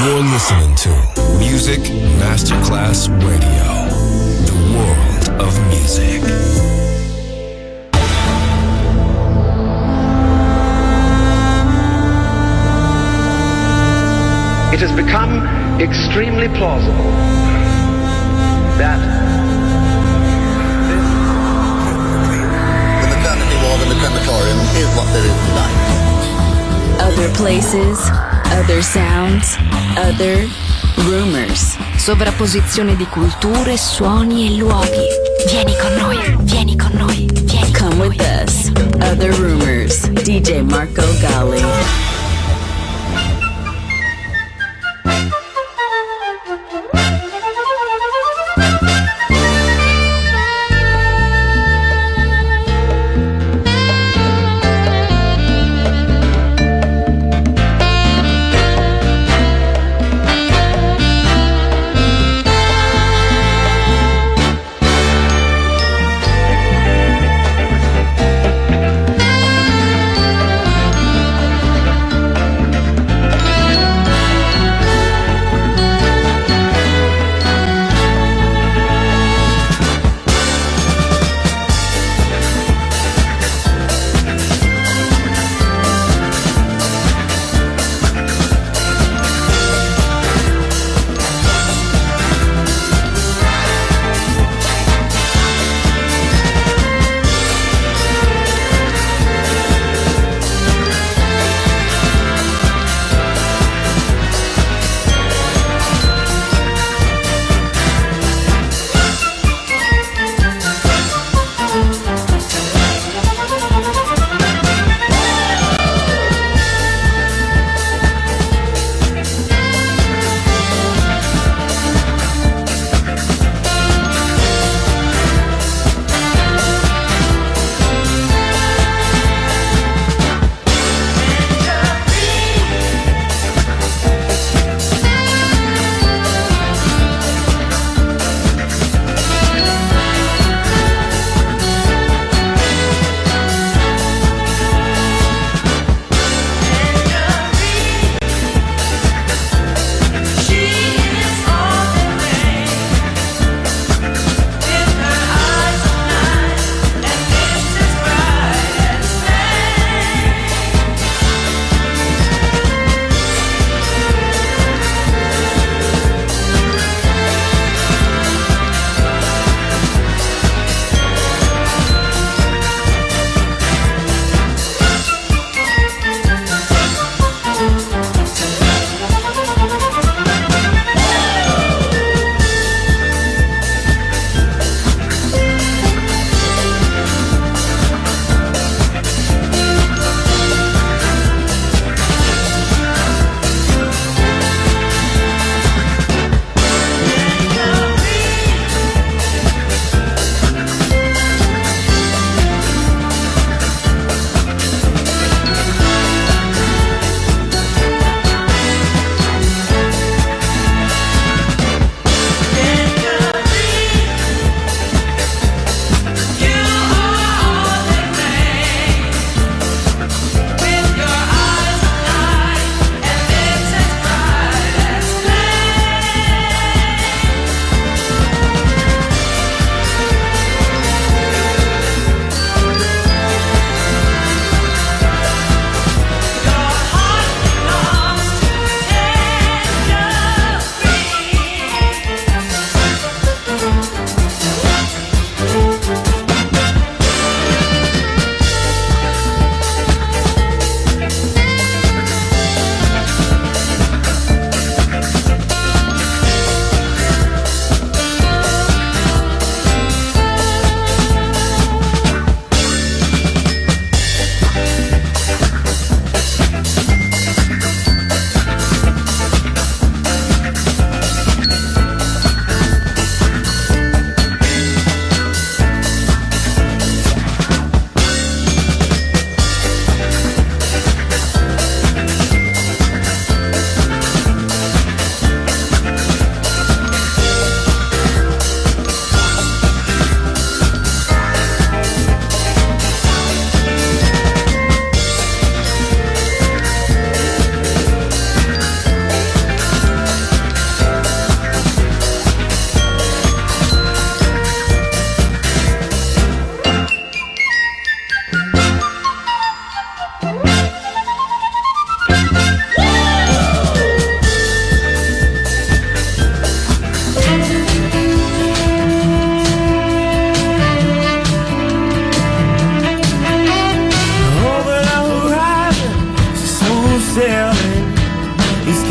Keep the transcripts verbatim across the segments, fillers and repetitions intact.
You're listening to Music Masterclass Radio, the world of music. It has become extremely plausible that the maternity ward and the crematorium is what there is tonight. Other places, other sounds, other rumors. Sovrapposizione di culture, suoni e luoghi. Vieni con noi, vieni con noi, vieni con Come with us. Other Rumors. D J Marco Gally.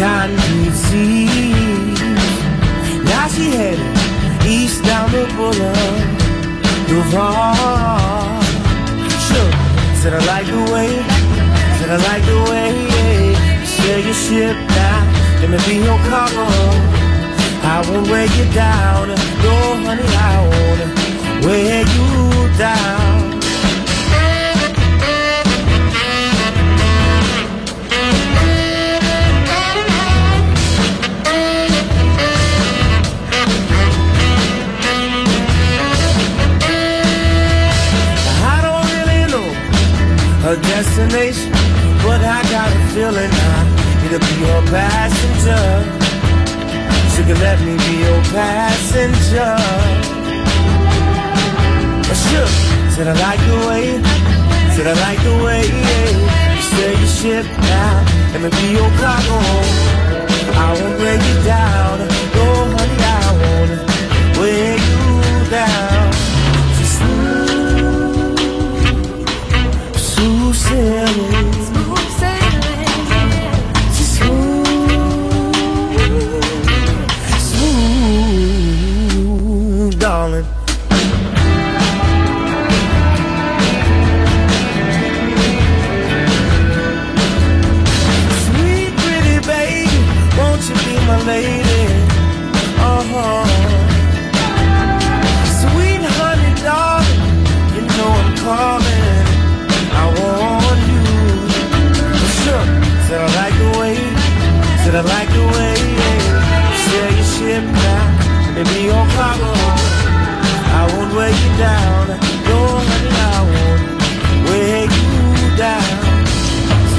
cotton disease. Now she headed east down the boulevard. Sure, said I like the way, said I like the way you sail your ship now. Let me be your cargo. I won't weigh you down. No, honey, I won't weigh you down. A destination, but I got a feeling I need to be your passenger. She can let me be your passenger. I shook, said I like the way, said I like the way you sail your ship now. Let me be your cargo. I won't break you down. No, honey, I won't weigh you down. Just smooth sailing, smooth sailing, she's smooth, smooth, darling. Sweet pretty baby, won't you be my lady? Uh-huh. Sweet honey darling, you know I'm calling. I want you. Sure, said I like the way, said I like the way you sail your ship now. Maybe your cargo. I won't weigh you down. No, honey, I won't weigh you down. So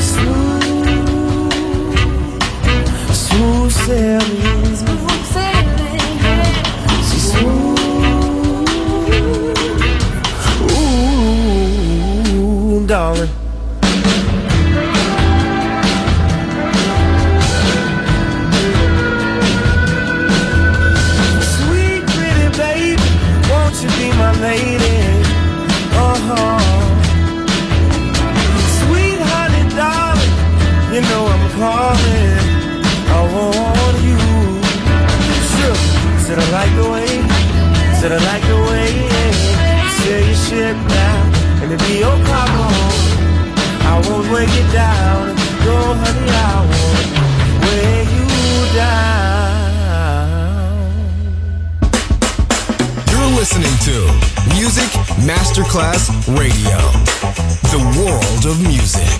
smooth, smooth sailing, smooth sailing, she's smooth. Darling, sweet pretty baby, won't you be my lady? Uh-huh. Sweet honey darling, you know I'm calling. I want you. Sure, said I like the way, said I like the way you sail your ship now. Let me be your cargo. I won't weigh you down. No, honey, I won't weigh you down. You're listening to Music Masterclass Radio. The world of music.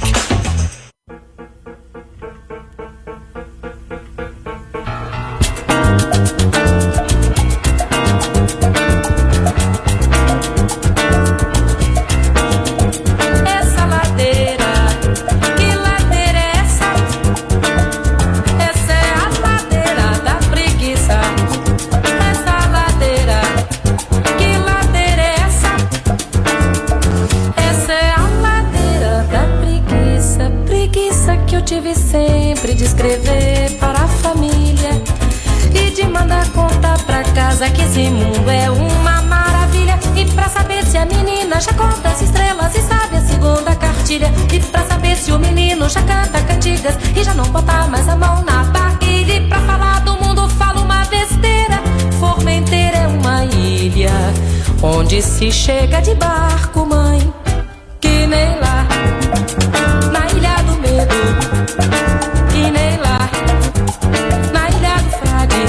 Que esse mundo é uma maravilha. E pra saber se a menina já conta as estrelas e sabe a segunda cartilha. E pra saber se o menino já canta cantigas e já não bota mais a mão na barriga. E pra falar do mundo fala uma besteira. Formenteira é uma ilha onde se chega de barco, mãe. Que nem lá na Ilha do Medo. Que nem lá na Ilha do Frade.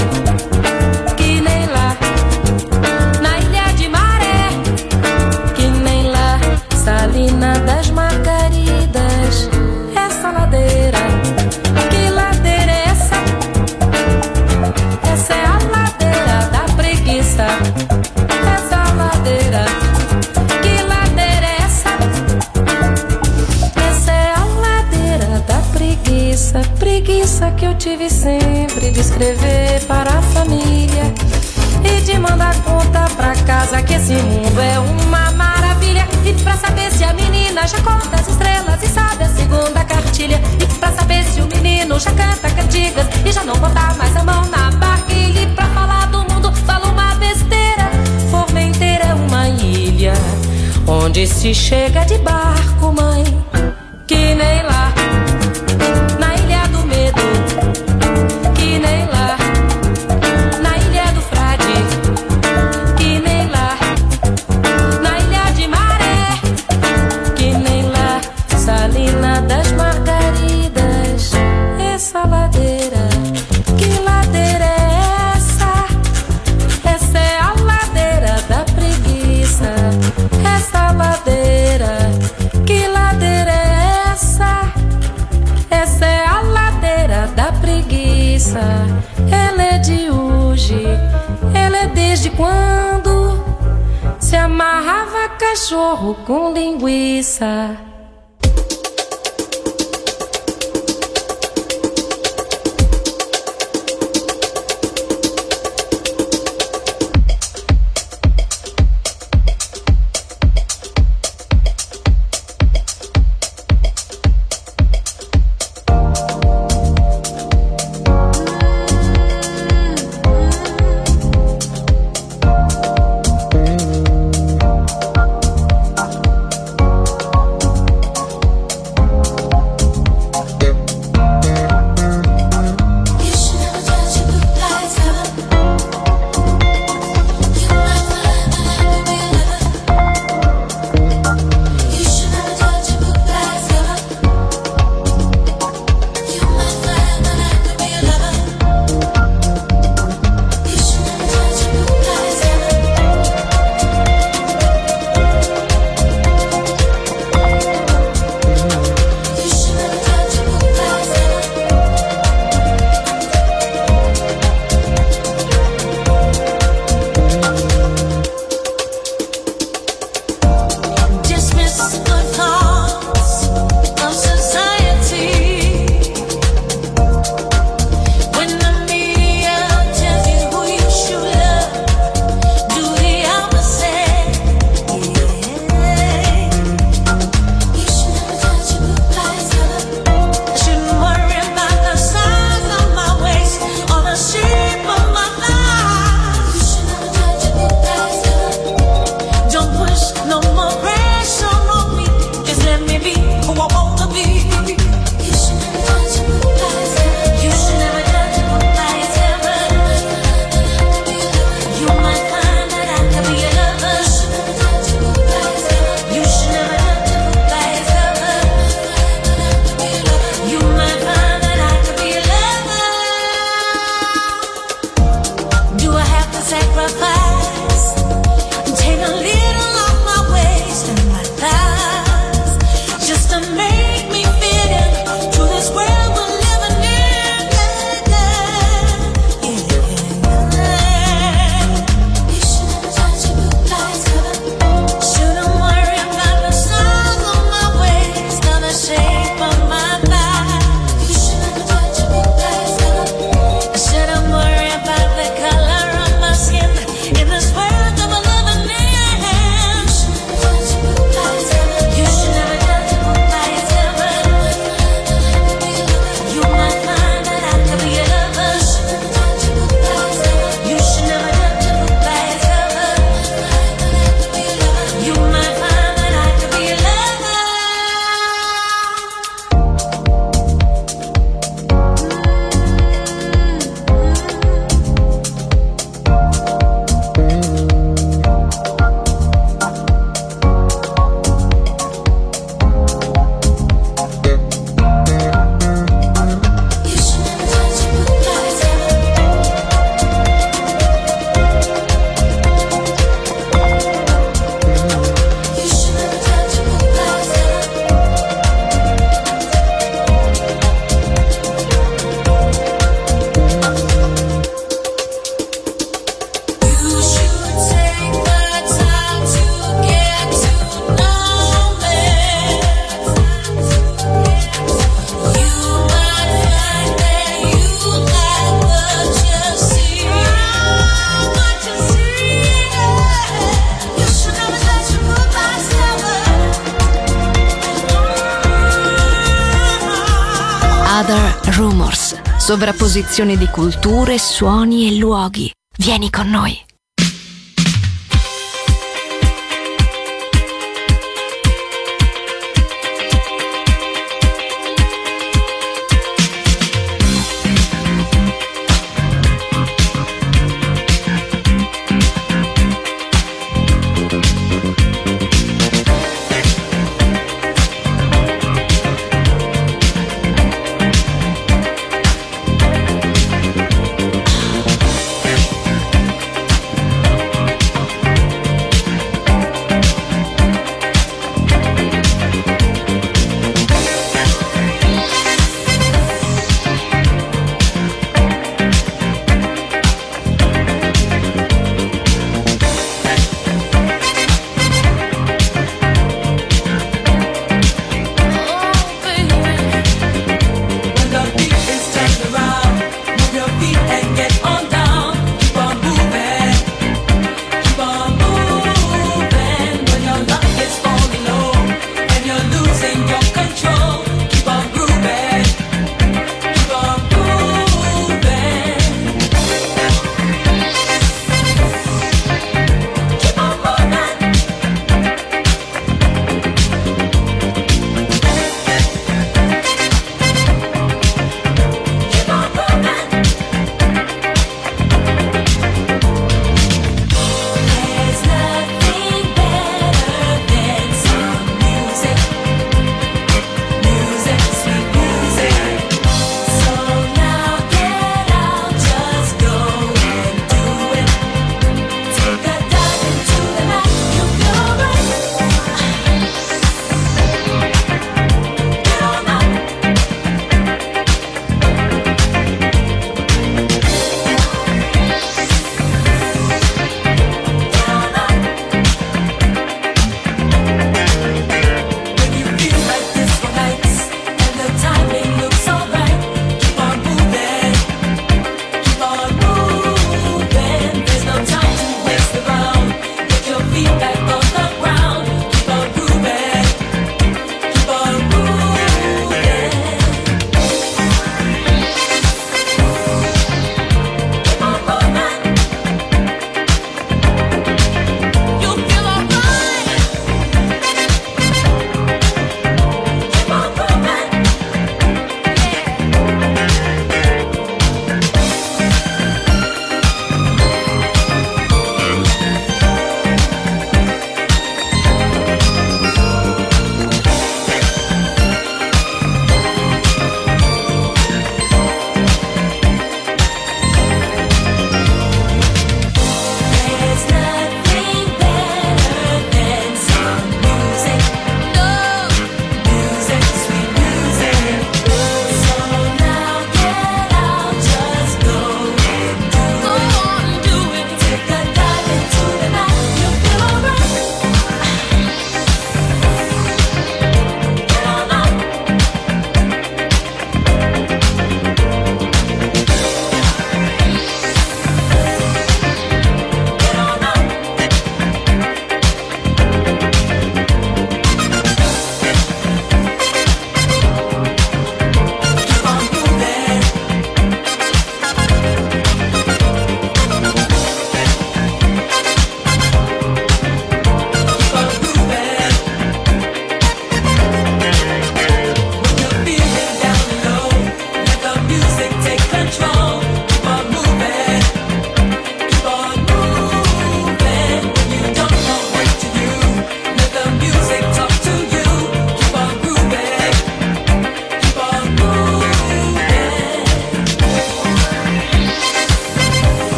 Salina das Margaridas, essa ladeira, que ladeira é essa? Essa é a ladeira da preguiça, essa ladeira, que ladeira é essa? Essa é a ladeira da preguiça, preguiça que eu tive sempre de escrever para a família e de mandar conta pra casa que esse mundo é uma maravilha. E pra saber se a menina já conta as estrelas e sabe a segunda cartilha. E pra saber se o menino já canta cantigas e já não bota mais a mão na barquilha. E pra falar do mundo fala uma besteira. Formenteira é uma ilha onde se chega de barco, mãe. Que nem lá na Ilha do Medo. linguiça, ela é de hoje, ela é desde quando se amarrava cachorro com linguiça. Other Rumors, sovrapposizione di culture, suoni e luoghi. Vieni con noi.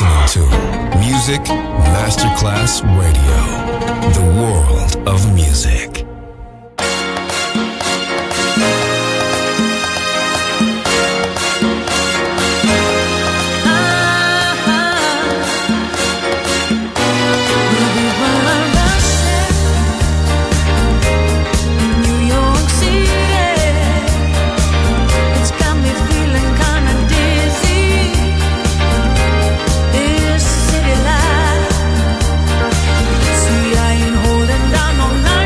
listening to Music Masterclass Radio, the world of music. See, I ain't holding down no night.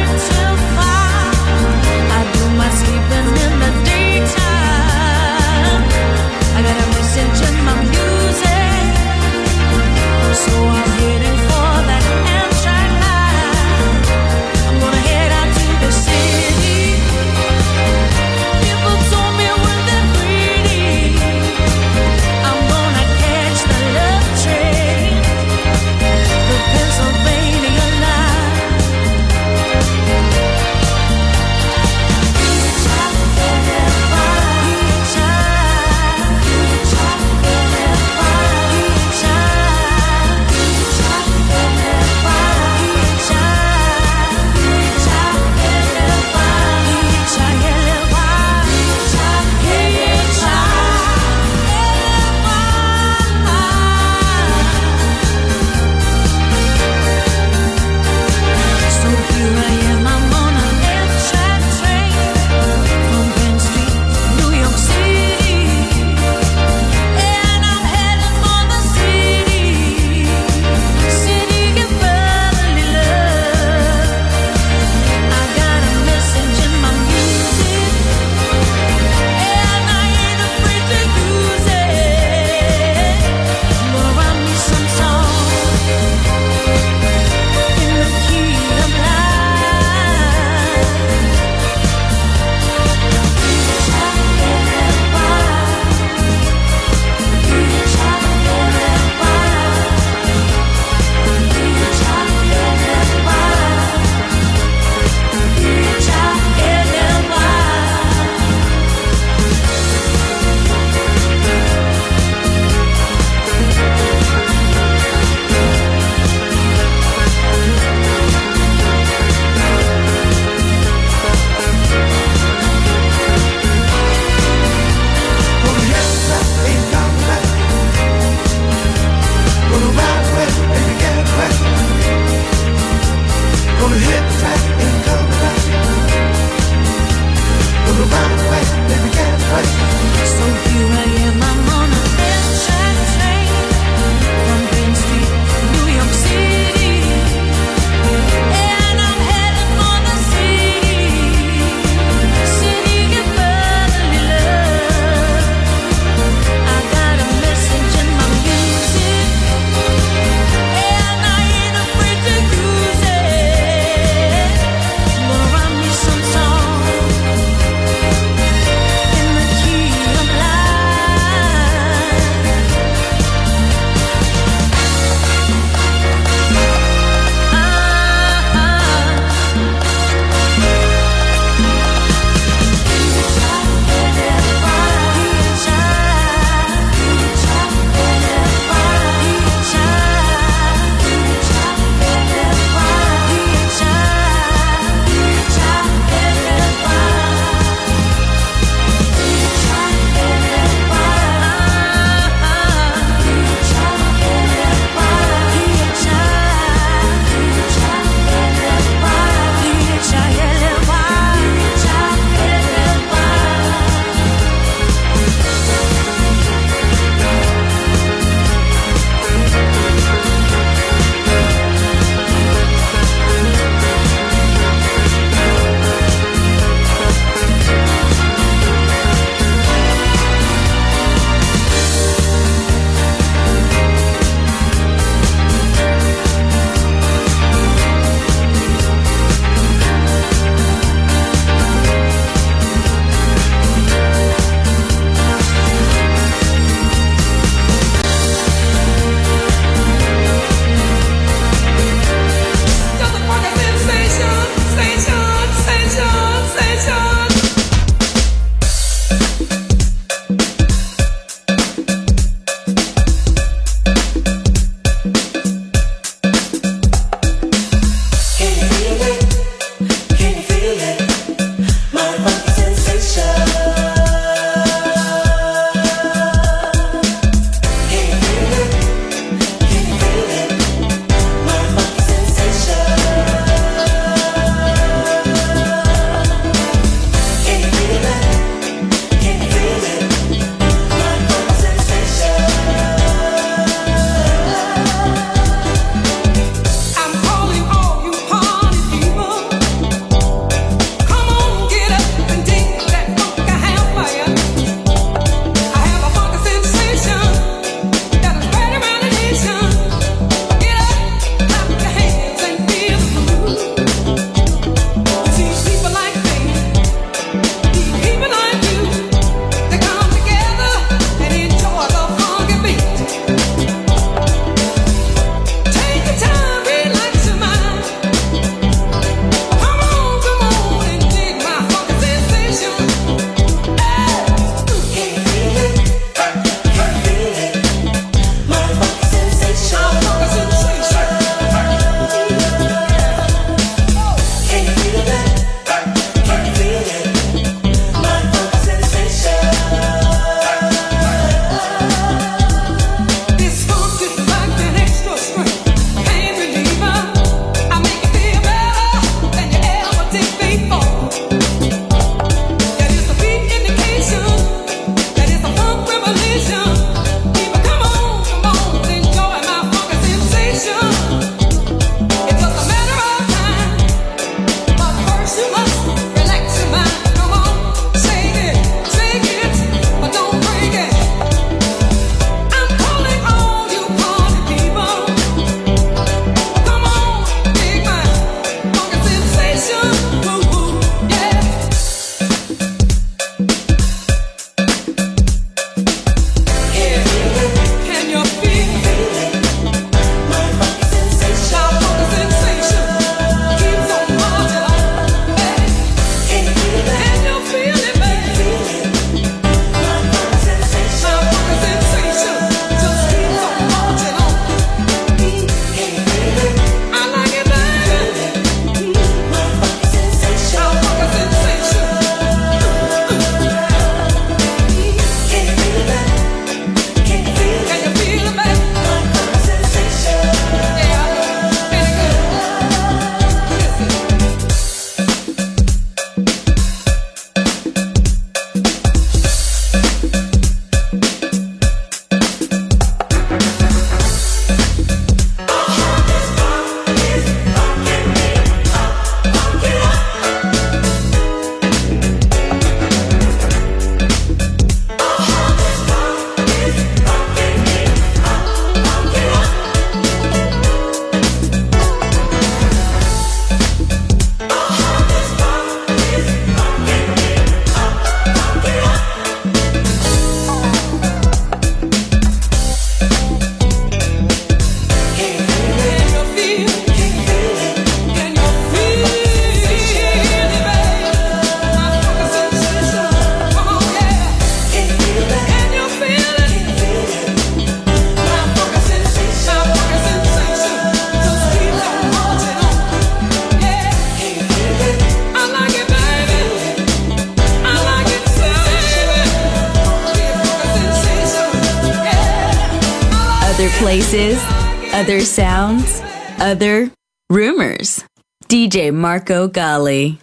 Other places, other sounds, other rumors. D J Marco Gally.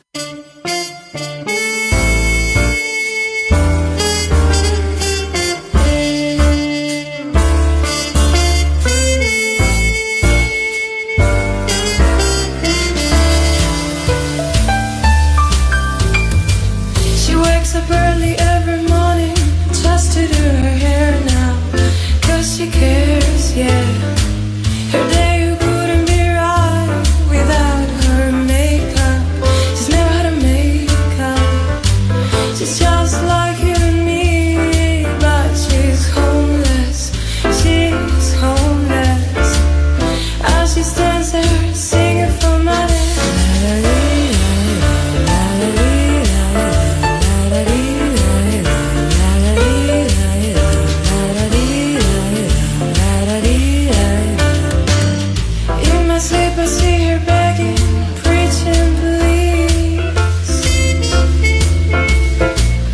She wakes up early every morning just to do her hair now, 'cause she cares, yeah. Her day couldn't be right without her makeup. She's never had a makeup. She's just like you and me, but she's homeless. She's homeless. As she stands there singing for money. I see her begging, preaching, please.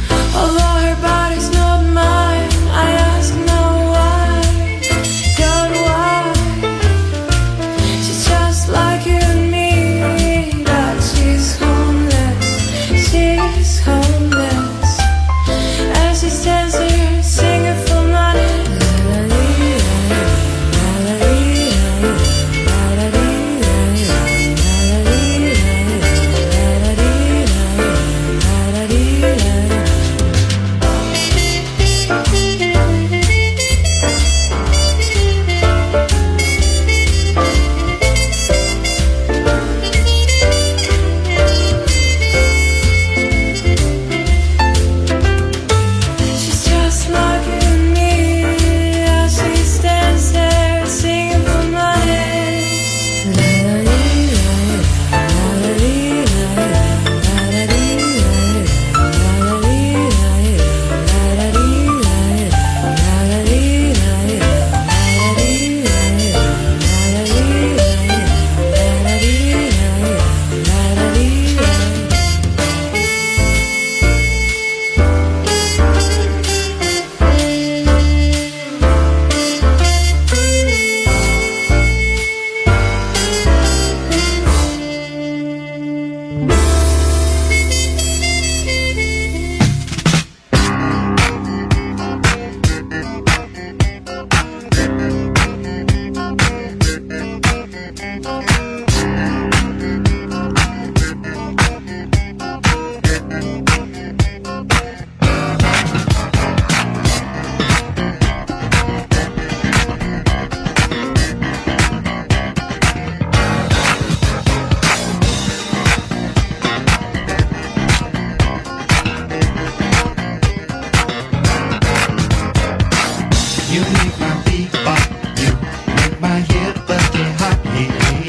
You make my beat bop, you make my hip bust it hot, yeah.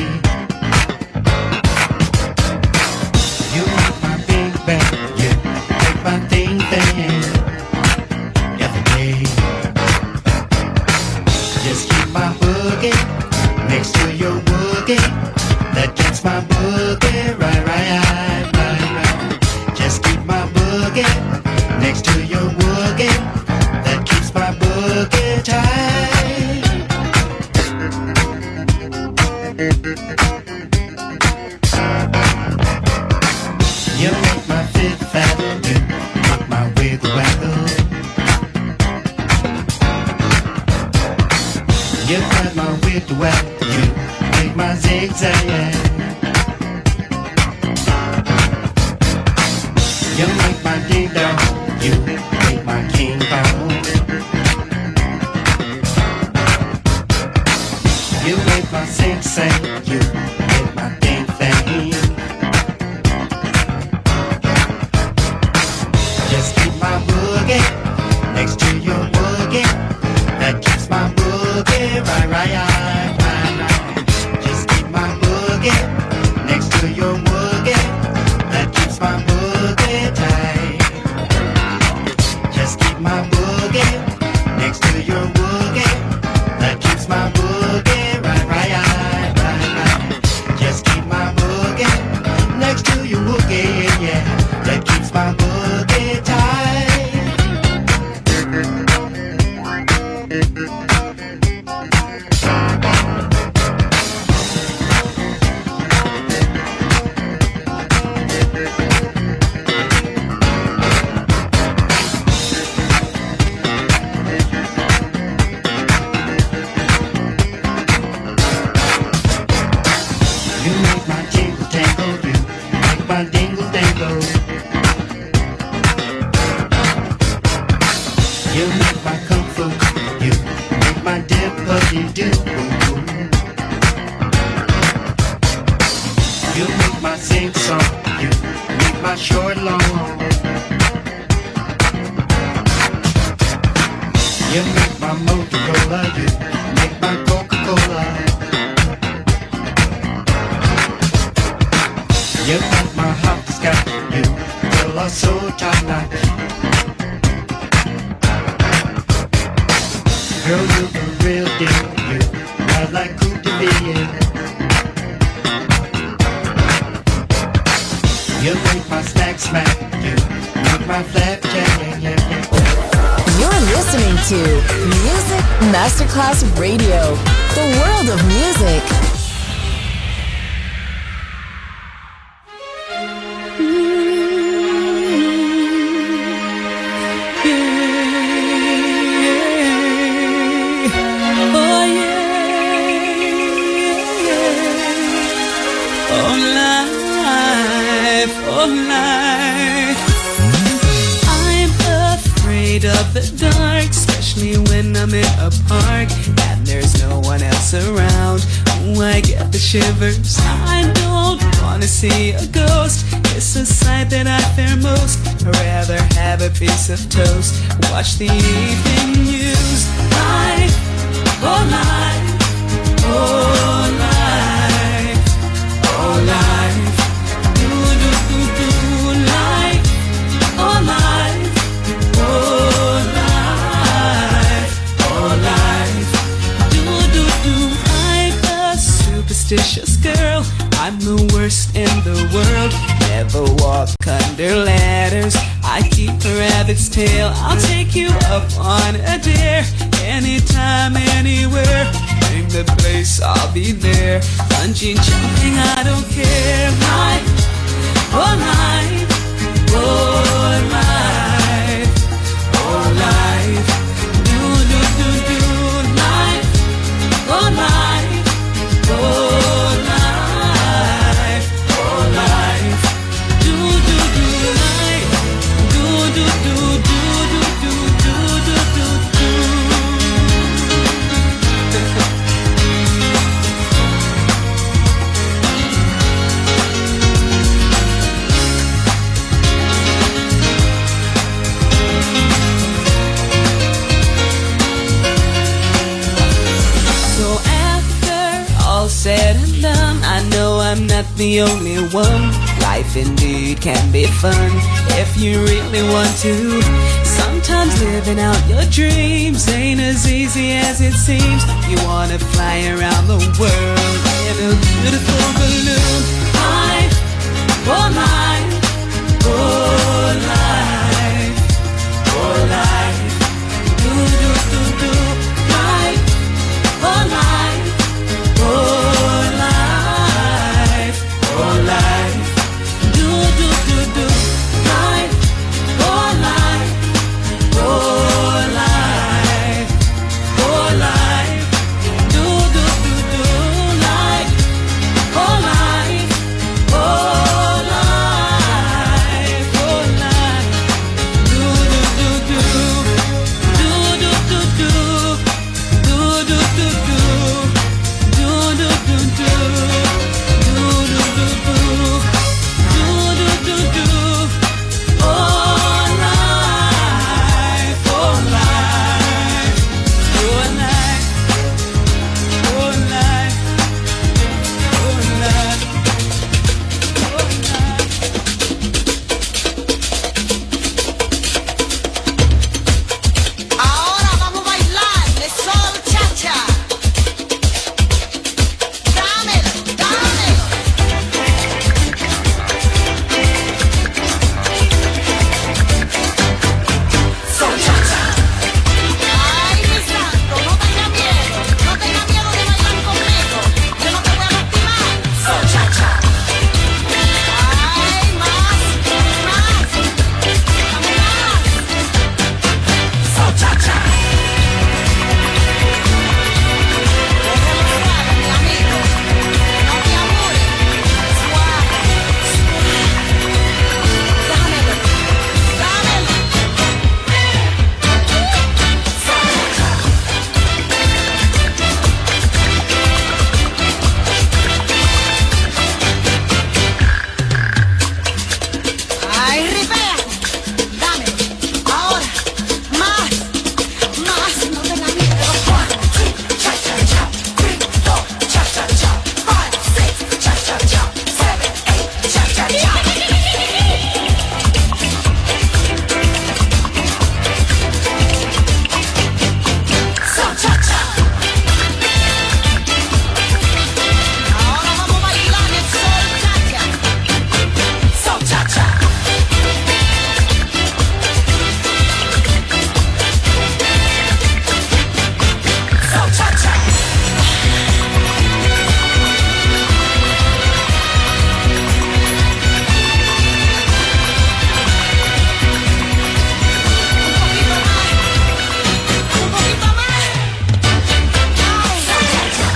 You make my big bang, you make my thing bang every day. Just keep my boogie next to your boogie. That gets my boogie right, right, right, right. Just keep my boogie next to your boogie. That keeps my boogie tight. You make my fit fat, you rock my wiggle waggle. You got my wiggle waggle, you make my zigzag. You make my ding dong, you make my king kong. You make my sing sing, you make my ding thing. Just keep my boogie next to your boogie. That keeps my boogie right, right, right, right, right. Just keep my boogie next to your boogie. That keeps my boogie tight. Just keep my boogie next to your boogie. That keeps my boogie right, right, right, right, right. Just keep my boogie next to your boogie, yeah. That keeps my boogie tight. You make my jingle tangle, you make my dingle dangle. You make my kung fu, you make my dippity do. You make my sing song, you make my short long. You make my Motorola, you make my Coca-Cola. You make my hopscotch, you feel us so top notch. Girl, you the real deal, you ride like Coupe de Ville. You make my snack smack, you make my flapjack, yeah, yeah, yeah. You're listening to Music Masterclass Radio, the world of music. Oh yeah, oh life, oh life. I'm afraid of the dark, especially when I'm in a park and there's no one else around. Ooh, I get the shivers. I don't wanna see a ghost. It's a sight that I fear most. I'd rather have a piece of toast, watch the evening news. Life, oh life, oh life, oh life, do do do do life, oh life, oh life, oh life, do do do. I'm a superstitious girl, I'm the worst in the world. Never walk under ladders, I keep a rabbit's tail. I'll take you up on a dare, anytime, anywhere. Name the place, I'll be there. Bungee jumping, I don't care. Life, oh life, oh life, oh life, do do do do life, oh life, oh life, oh life, do do do life, do do do do do do do do do do. the only one. Life indeed can be fun if you really want to. Sometimes living out your dreams ain't as easy as it seems. You wanna fly around the world in a beautiful balloon. Life, oh life, oh life, oh life. Do do do do. Life, oh life, oh life, oh life. Do do do do. Life, oh life, oh life, oh life. Do do do do. Life, oh life, oh life, oh life. Do do do do. Do do do do. Do do do do. Do do do do. Do do do do. Do do do do. Oh life, oh life, oh life, oh life, oh life, oh life. Ahora vamos a bailar de sol cha-cha. Dámelo, dámelo. Sol cha-cha. Ay, mi santo, no tenga miedo. No tenga miedo de bailar conmigo. Yo no te voy a lastimar. Sol cha-cha. Ay, más, más. Dame más. Sol cha-cha. Déjalo suave, mi amigo. No te amores. Suave, suave. Dámelo, dámelo. Sol cha-cha. Ay, ripea. Dámelo. Ahora. Más. Más. No tenga miedo. One, two, cha cha cha. Three, four, cha cha cha. Five, six, cha cha cha. Seven, eight, cha cha cha. Sol cha cha. Ahora vamos a bailar el sol cha cha. Sol cha cha. Sol cha cha. Un poquito más. Un poquito más. Sol cha cha.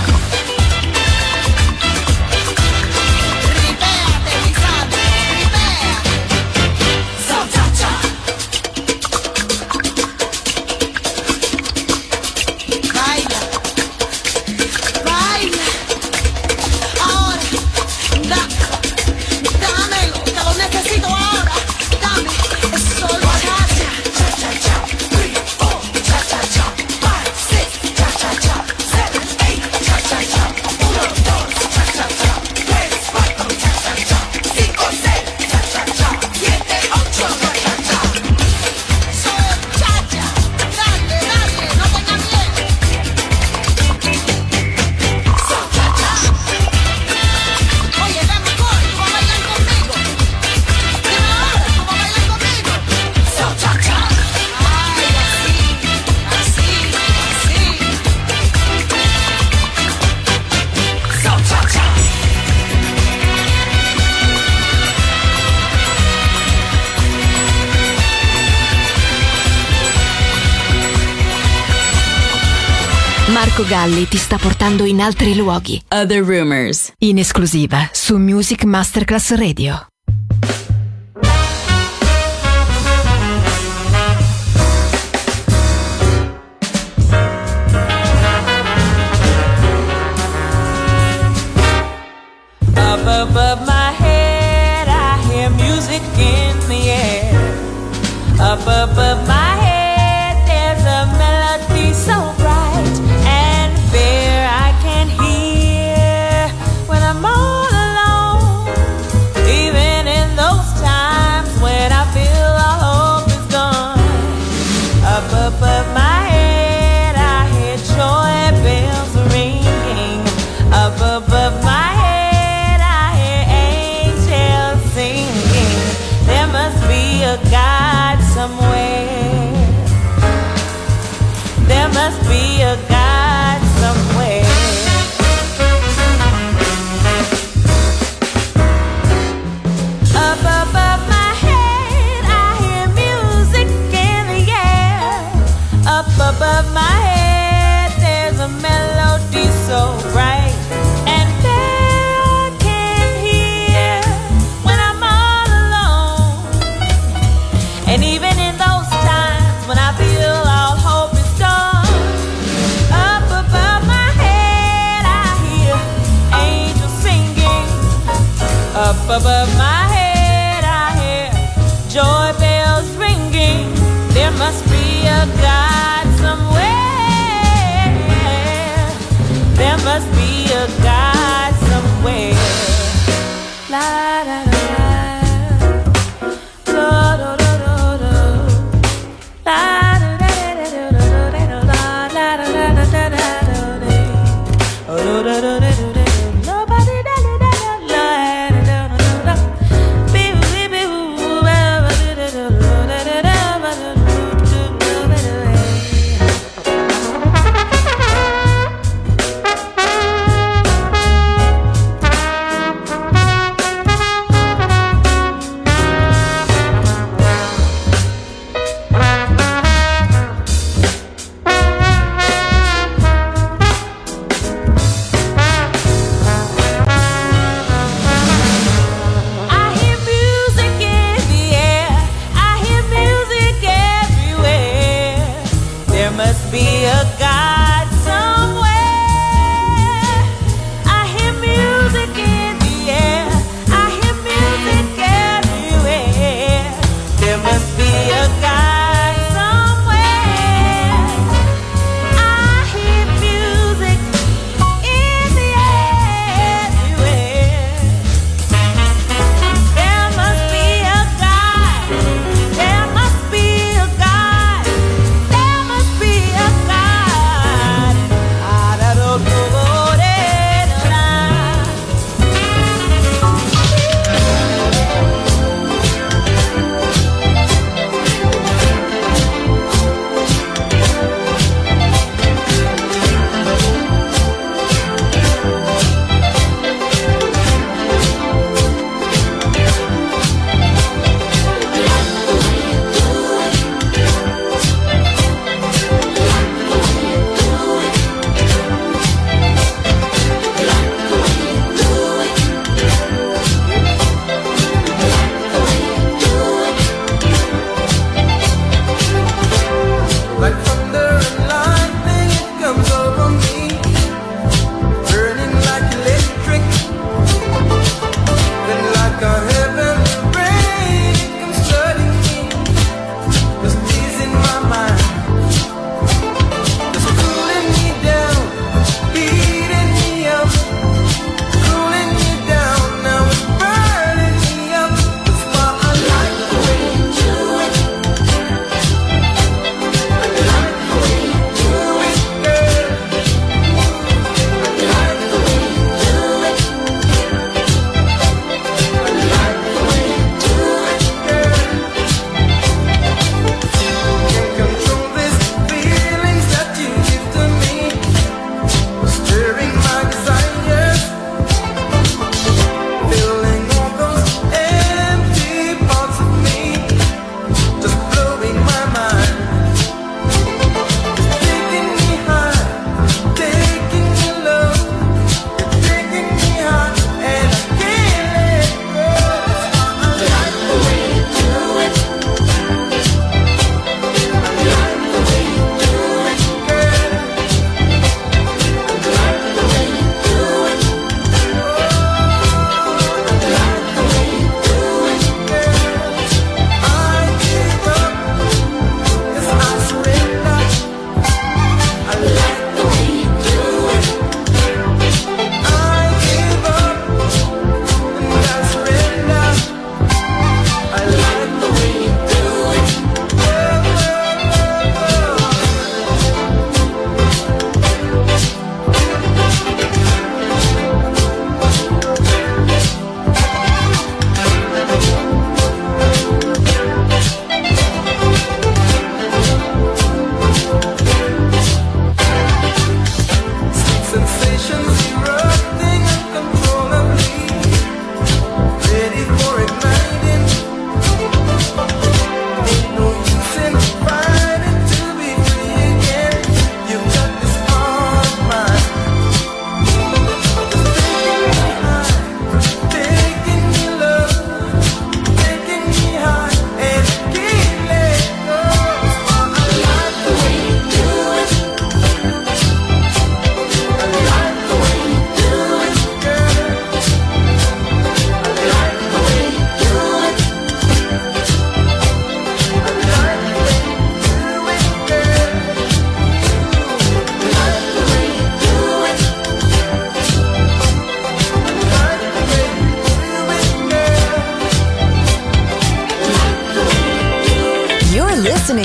Ripéate, mi santo, ripéate. Sol cha cha. Baila, baila. Ahora, da, dámelo, te lo necesito ahora. Dame, es sol cha-cha. Cha-cha-cha, three, four, cha-cha-cha, five, six, cha-cha-cha, seven, eight, cha-cha-cha, uno, dos, cha-cha-cha, tres, cuatro, cha-cha-cha, cinco, seis, cha-cha-cha, siete, ocho, cha-cha-cha. Sol cha-cha, dale, dale, no tengas miedo. Sol cha-cha. Oye, ven, McCoy, tú vas a bailar conmigo. Dime ahora, tú vas a bailar conmigo. Sol cha-cha. Ay, así, así, así. Sol cha-cha. Marco Galli ti sta portando in altri luoghi. Other Rumors, in esclusiva su Music Masterclass Radio. Up above my head, I hear music in the air. Up above my head, there's a melody so bright and fair I can hear when I'm all alone. above my head I hear joy bells ringing. There must be a God somewhere. There must be a God somewhere. La da da da, da da da da da, la da da da da da da, la da da da da da da, oh da da da da da. Nobody da da da da da da da da, be be be da da da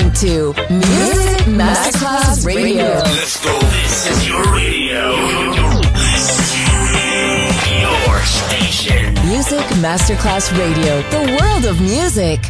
listening to Music Masterclass Radio. Let's go. This is your radio. Your station. Music Masterclass Radio. The world of music.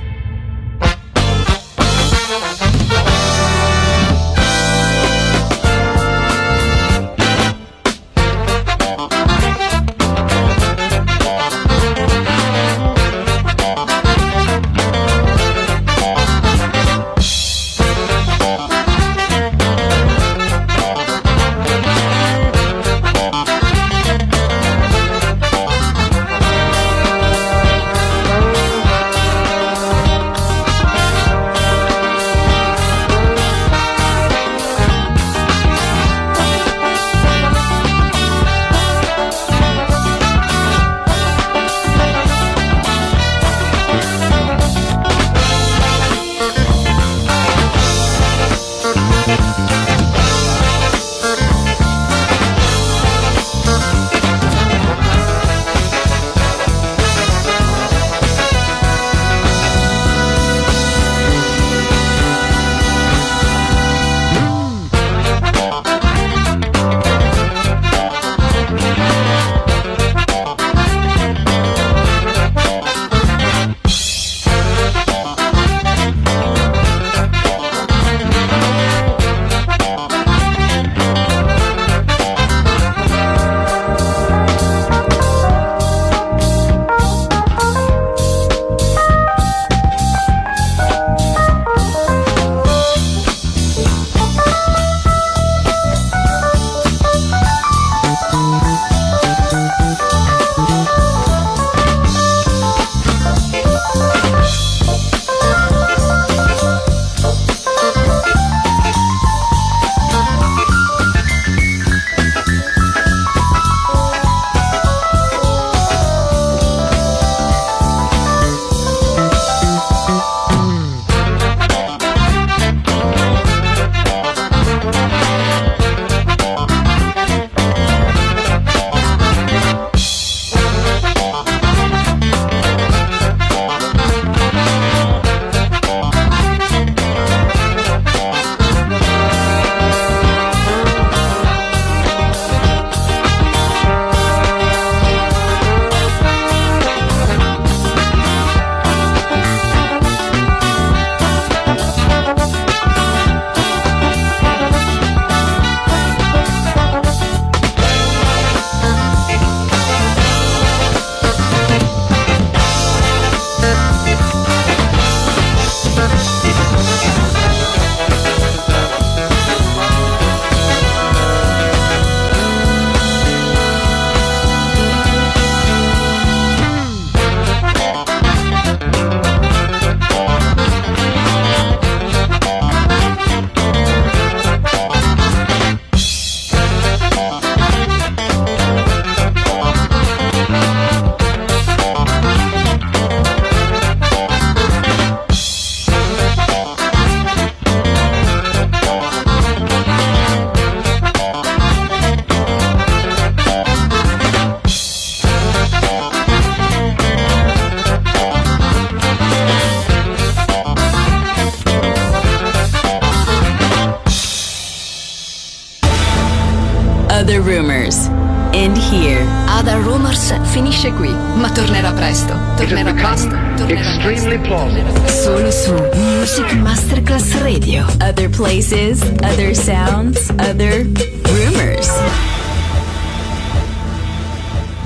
Other Rumors. End here. Other Rumors finisce qui, ma tornerà presto. Tornerà presto. Tornerà extremely plausible. Solo su Music Masterclass Radio. Other places, other sounds, other